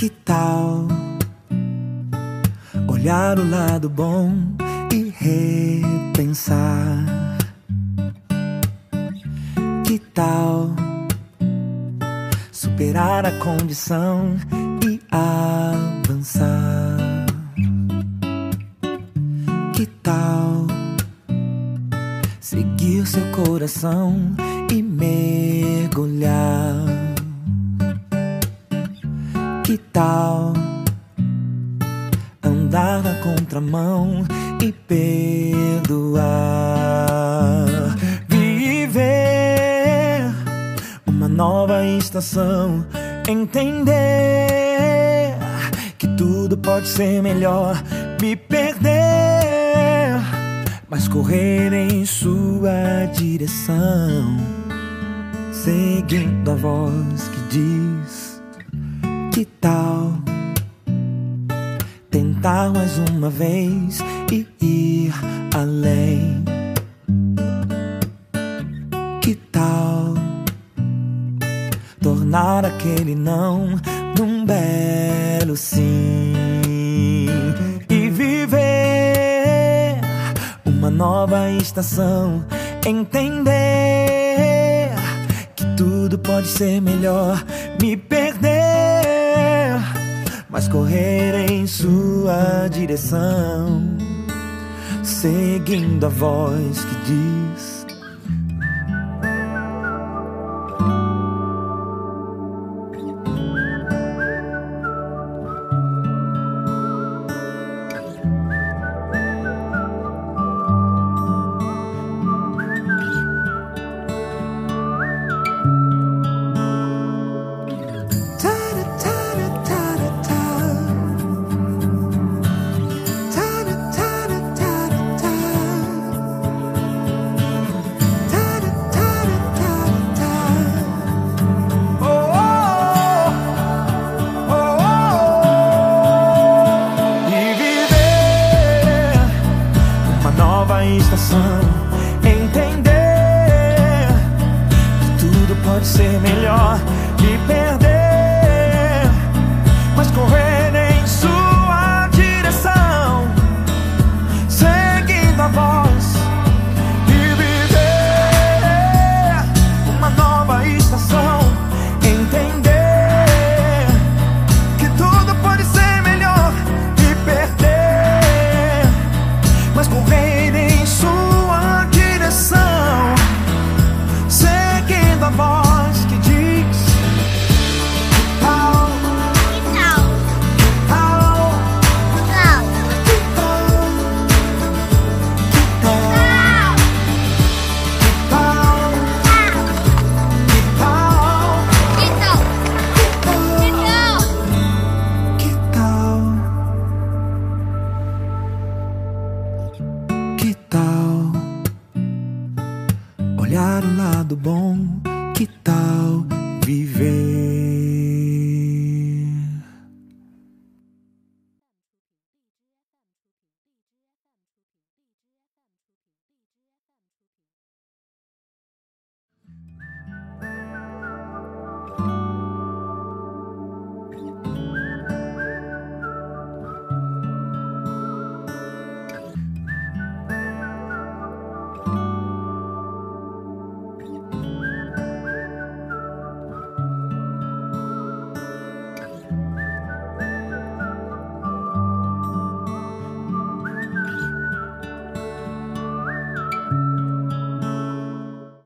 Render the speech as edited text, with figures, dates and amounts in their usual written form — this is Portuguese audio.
Que tal olhar o lado bom e repensar? Que tal superar a condição e avançar? Que tal seguir seu coração e mergulhar? Que tal andar na contramão e perdoar? Viver uma nova estação, entender que tudo pode ser melhor, me perder, mas correr em sua direção, seguindo a voz que diz: que tal tentar mais uma vez e ir além? Que tal tornar aquele não num belo sim e viver uma nova estação, entender que tudo pode ser melhor, me perder, mas correr em sua direção, seguindo a voz que diz: estação, entender que tudo pode ser melhor, me perder, mas correr em sua direção, seguindo a voz e viver uma nova estação, entender que tudo pode ser melhor, me perder, mas correr seguindo a voz que diz: que tal olhar o lado bom? Que tal viver?